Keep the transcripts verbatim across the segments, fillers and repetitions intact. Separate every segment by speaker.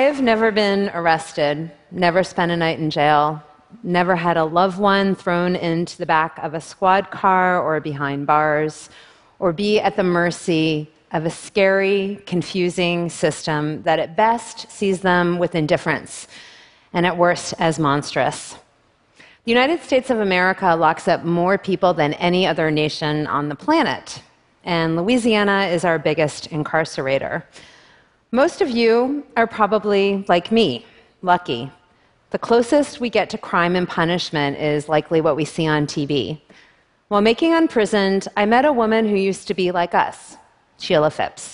Speaker 1: I've never been arrested, never spent a night in jail, never had a loved one thrown into the back of a squad car or behind bars, or be at the mercy of a scary, confusing system that at best sees them with indifference and at worst as monstrous. The United States of America locks up more people than any other nation on the planet, and Louisiana is our biggest incarcerator. Most of you are probably, like me, lucky. The closest we get to crime and punishment is likely what we see on T V. While making Unprisoned, I met a woman who used to be like us, Sheila Phipps.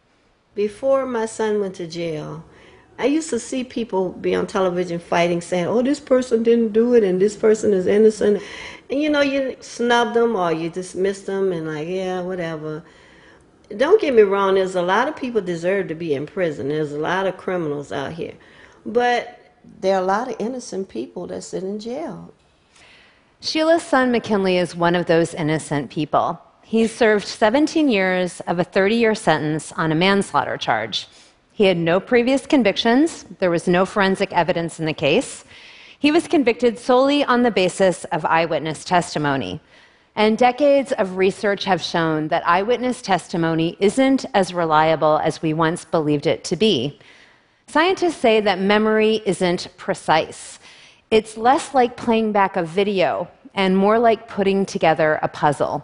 Speaker 2: Before my son went to jail, I used to see people be on television fighting, saying, oh, this person didn't do it and this person is innocent. And you know, you snub them or you dismiss them and like, yeah, whatever. Don't get me wrong, there's a lot of people deserve to be in prison. There's a lot of criminals out here. But there are a lot of innocent people that sit in jail.
Speaker 1: Sheila's son, McKinley, is one of those innocent people. He served seventeen years of a thirty-year sentence on a manslaughter charge. He had no previous convictions. There was no forensic evidence in the case. He was convicted solely on the basis of eyewitness testimony. And decades of research have shown that eyewitness testimony isn't as reliable as we once believed it to be. Scientists say that memory isn't precise. It's less like playing back a video and more like putting together a puzzle.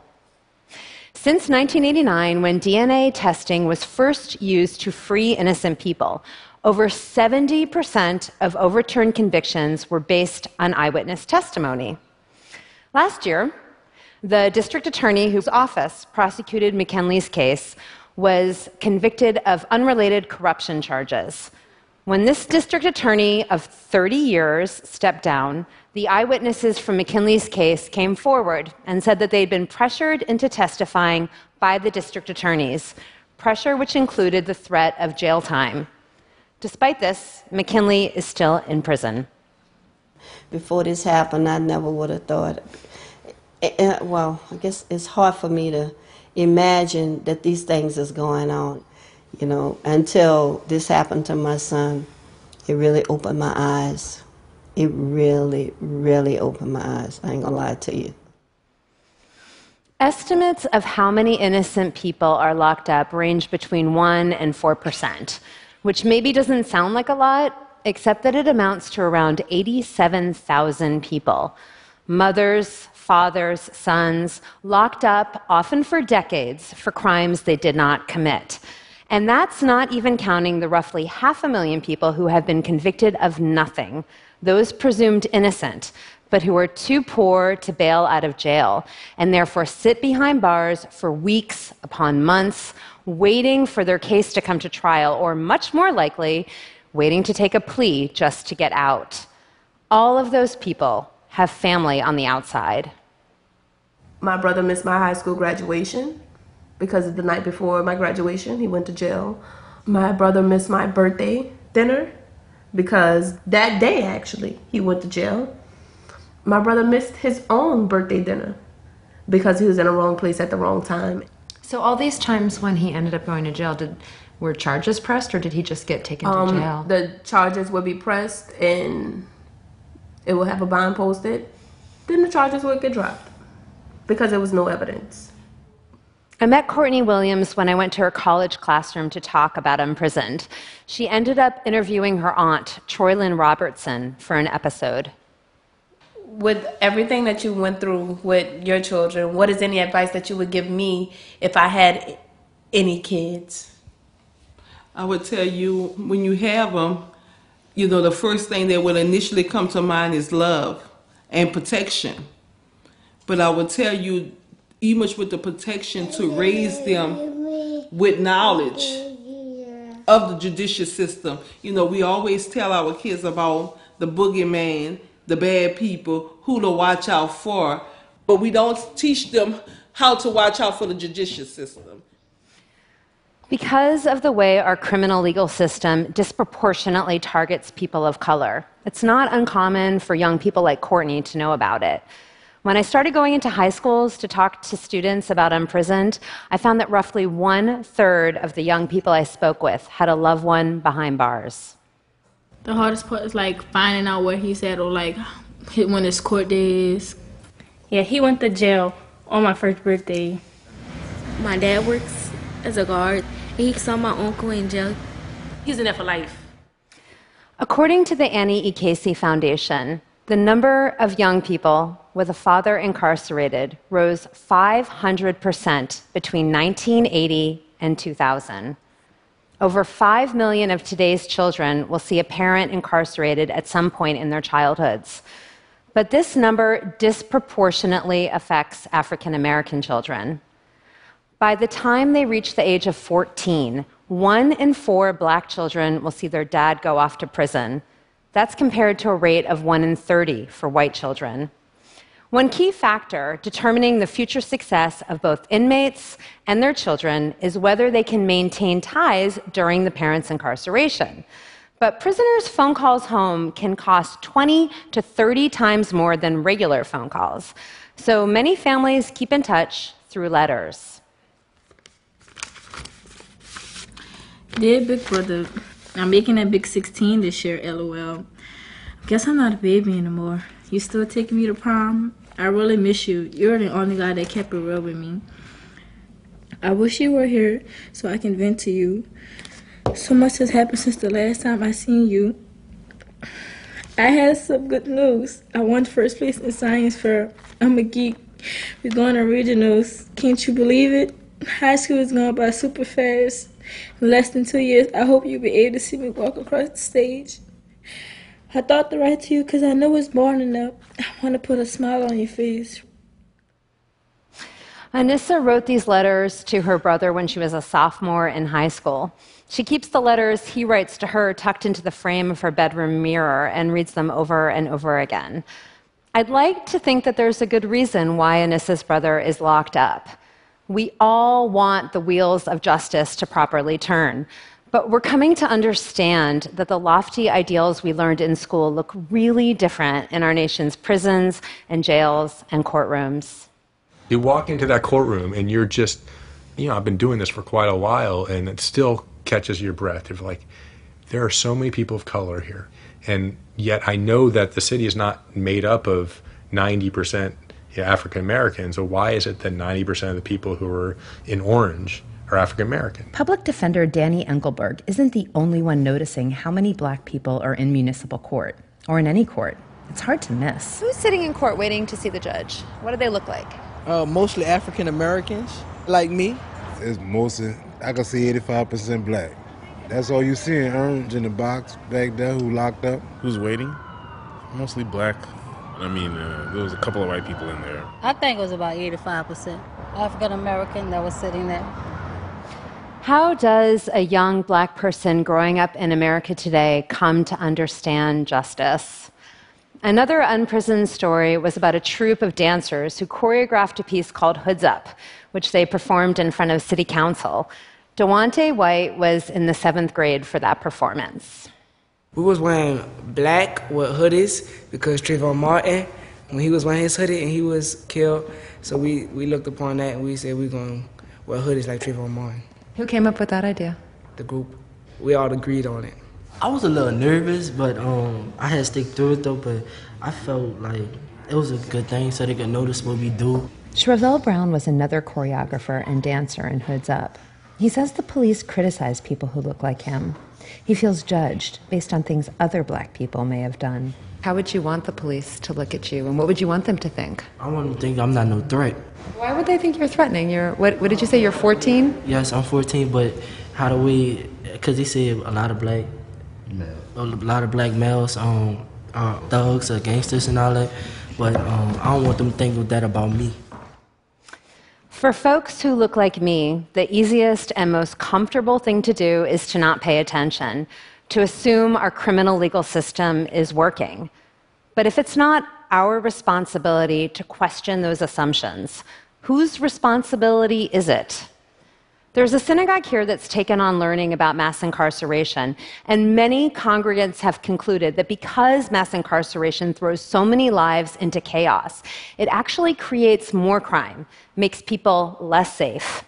Speaker 1: Since nineteen eighty-nine, when D N A testing was first used to free innocent people, over seventy percent of overturned convictions were based on eyewitness testimony. Last year, the district attorney whose office prosecuted McKinley's case was convicted of unrelated corruption charges. When this district attorney of thirty years stepped down, the eyewitnesses from McKinley's case came forward and said that they'd been pressured into testifying by the district attorneys, pressure which included the threat of jail time. Despite this, McKinley is still in prison.
Speaker 2: Before this happened, I never would have thought. Well, I guess it's hard for me to imagine that these things is going on, you know, until this happened to my son. It really opened my eyes. It really, really opened my eyes. I ain't gonna lie to you.
Speaker 1: Estimates of how many innocent people are locked up range between one and four percent, which maybe doesn't sound like a lot, except that it amounts to around eighty-seven thousand people. Mothers, fathers, sons, locked up, often for decades, for crimes they did not commit. And that's not even counting the roughly half a million people who have been convicted of nothing, those presumed innocent, but who are too poor to bail out of jail, and therefore sit behind bars for weeks upon months, waiting for their case to come to trial, or much more likely, waiting to take a plea just to get out. All of those people have family on the outside.
Speaker 3: My brother missed my high school graduation because the night before my graduation, he went to jail. My brother missed my birthday dinner because that day, actually, he went to jail. My brother missed his own birthday dinner because he was in the wrong place at the wrong time.
Speaker 4: So all these times when he ended up going to jail, did were charges pressed or did he just get taken
Speaker 3: um,
Speaker 4: to jail?
Speaker 3: The charges would be pressed and it will have a bond posted. Then the charges would get dropped because there was no evidence.
Speaker 1: I met Courtney Williams when I went to her college classroom to talk about Unprisoned. She ended up interviewing her aunt, Troylyn Robertson, for an episode.
Speaker 3: With everything that you went through with your children, what is any advice that you would give me if I had any kids?
Speaker 5: I would tell you, when you have them, you know, the first thing that will initially come to mind is love and protection. But I would tell you, even with the protection, to raise them with knowledge of the judicial system. You know, we always tell our kids about the boogeyman, the bad people, who to watch out for, but we don't teach them how to watch out for the judicial system.
Speaker 1: Because of the way our criminal legal system disproportionately targets people of color, it's not uncommon for young people like Courtney to know about it. When I started going into high schools to talk to students about Unprisoned, I found that roughly one-third of the young people I spoke with had a loved one behind bars.
Speaker 6: The hardest part is like finding out where he's at or like when his court day is.
Speaker 7: Yeah, he went to jail on my first birthday.
Speaker 8: My dad works as a guard. He saw my uncle in jail.
Speaker 7: He's in there for life.
Speaker 1: According to the Annie E. Casey Foundation, the number of young people with a father incarcerated rose five hundred percent between nineteen eighty and two thousand. Over five million of today's children will see a parent incarcerated at some point in their childhoods. But this number disproportionately affects African American children. By the time they reach the age of fourteen, one in four black children will see their dad go off to prison. That's compared to a rate of one in thirty for white children. One key factor determining the future success of both inmates and their children is whether they can maintain ties during the parent's incarceration. But prisoners' phone calls home can cost twenty to thirty times more than regular phone calls. So many families keep in touch through letters.
Speaker 6: Dear Big Brother, I'm making a big sixteen this year, LOL. Guess I'm not a baby anymore. You still taking me to prom? I really miss you. You're the only guy that kept it real with me. I wish you were here so I can vent to you. So much has happened since the last time I seen you. I had some good news. I won first place in science fair. I'm a geek. We're going to regionals. Can't you believe it? High school is going by super fast. In less than two years, I hope you'll be able to see me walk across the stage. I thought to write to you because I know it's morning up. I want to put a smile on your face.
Speaker 1: Anissa wrote these letters to her brother when she was a sophomore in high school. She keeps the letters he writes to her tucked into the frame of her bedroom mirror and reads them over and over again. I'd like to think that there's a good reason why Anissa's brother is locked up. We all want the wheels of justice to properly turn, but we're coming to understand that the lofty ideals we learned in school look really different in our nation's prisons and jails and courtrooms.
Speaker 9: You walk into that courtroom and you're just, you know, I've been doing this for quite a while and it still catches your breath. You're like, there are so many people of color here. And yet I know that the city is not made up of ninety percent African Americans. So why is it that ninety percent of the people who are in orange are African American?
Speaker 10: Public defender Danny Engelberg isn't the only one noticing how many black people are in municipal court, or in any court. It's hard to miss.
Speaker 1: Who's sitting in court waiting to see the judge? What do they look like?
Speaker 11: Uh, mostly African Americans, like me.
Speaker 12: It's mostly, I can see eighty-five percent black. That's all you see in orange in the box back there who locked up.
Speaker 13: Who's waiting? Mostly black. I mean, uh, there was a couple of white people in there.
Speaker 14: I think it was about eighty-five percent African American that was sitting there.
Speaker 1: How does a young black person growing up in America today come to understand justice? Another unprisoned story was about a troupe of dancers who choreographed a piece called Hoods Up, which they performed in front of city council. Dewante White was in the seventh grade for that performance.
Speaker 15: We was wearing black with hoodies because Trayvon Martin, when he was wearing his hoodie and he was killed, so we, we looked upon that and we said we're going to wear hoodies like Trayvon Martin.
Speaker 4: Who came up with that idea?
Speaker 15: The group. We all agreed on it.
Speaker 16: I was a little nervous, but um, I had to stick through it though, but I felt like it was a good thing so they could notice what we do.
Speaker 10: Shrevell Brown was another choreographer and dancer in Hoods Up. He says the police criticize people who look like him. He feels judged based on things other black people may have done.
Speaker 4: How would you want the police to look at you, and what would you want them to think?
Speaker 16: I want them to think I'm not no threat.
Speaker 4: Why would they think you're threatening? You're what? What did you say? You're fourteen?
Speaker 16: Yes, I'm fourteen, but how do we? Because they say a lot of black, a lot of black males, um, are thugs or gangsters and all that. But um, I don't want them to think that about me.
Speaker 1: For folks who look like me, the easiest and most comfortable thing to do is to not pay attention, to assume our criminal legal system is working. But if it's not our responsibility to question those assumptions, whose responsibility is it? There's a synagogue here that's taken on learning about mass incarceration, and many congregants have concluded that because mass incarceration throws so many lives into chaos, it actually creates more crime, makes people less safe.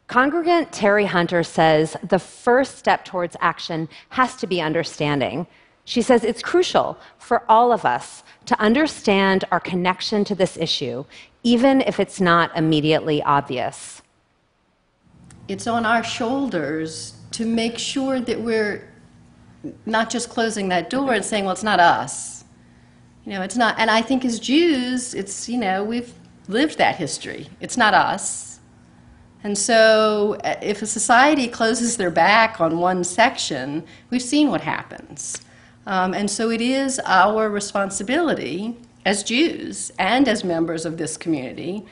Speaker 1: Congregant Terry Hunter says the first step towards action has to be understanding. She says it's crucial for all of us to understand our connection to this issue, even if it's not immediately obvious.
Speaker 17: It's on our shoulders to make sure that we're not just closing that door and saying, well, it's not us. You know, it's not, and I think as Jews, it's, you know, we've lived that history. It's not us. And so if a society closes their back on one section, we've seen what happens. Um, and so it is our responsibility as Jews and as members of this community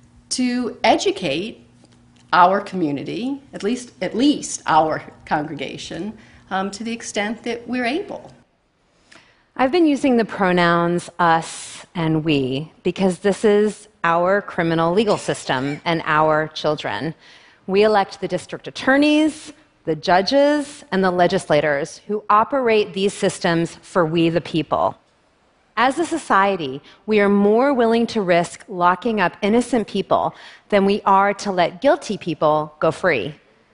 Speaker 17: to educate our community, at least, at least our congregation, um, to the extent that we're able.
Speaker 1: I've been using the pronouns us and we because this is our criminal legal system and our children. We elect the district attorneys, the judges, and the legislators who operate these systems for we the people. As a society, we are more willing to risk locking up innocent people than we are to let guilty people go free.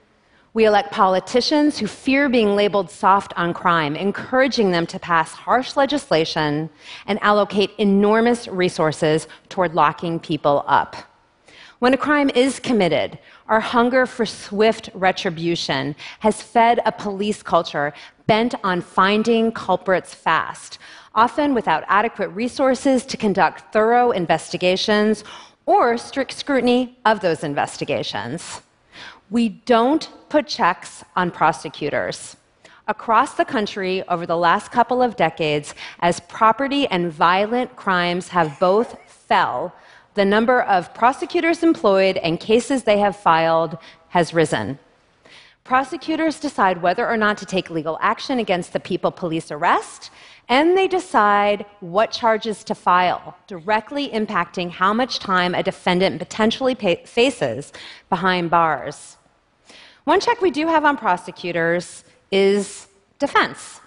Speaker 1: We elect politicians who fear being labeled soft on crime, encouraging them to pass harsh legislation and allocate enormous resources toward locking people up. When a crime is committed, our hunger for swift retribution has fed a police culture bent on finding culprits fast, often without adequate resources to conduct thorough investigations or strict scrutiny of those investigations. We don't put checks on prosecutors. Across the country over the last couple of decades, as property and violent crimes have both fell, the number of prosecutors employed and cases they have filed has risen. Prosecutors decide whether or not to take legal action against the people police arrest, and they decide what charges to file, directly impacting how much time a defendant potentially pay- faces behind bars. One check we do have on prosecutors is defense.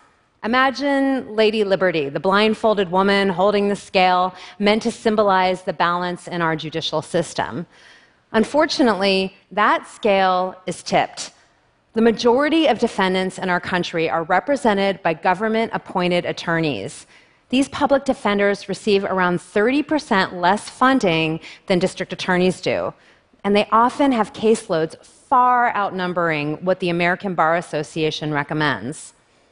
Speaker 1: Imagine Lady Liberty, the blindfolded woman holding the scale, meant to symbolize the balance in our judicial system. Unfortunately, that scale is tipped. The majority of defendants in our country are represented by government-appointed attorneys. These public defenders receive around thirty percent less funding than district attorneys do, and they often have caseloads far outnumbering what the American Bar Association recommends.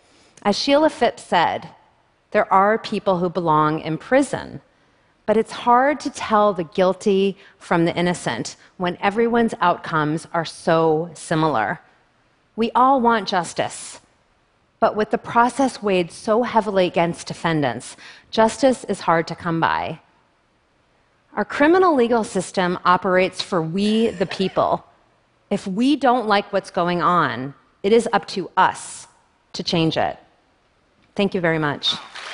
Speaker 1: As Sheila Phipps said, there are people who belong in prison, but it's hard to tell the guilty from the innocent when everyone's outcomes are so similar. We all want justice, but with the process weighed so heavily against defendants, justice is hard to come by. Our criminal legal system operates for we, the people. If we don't like what's going on, it is up to us to change it. Thank you very much.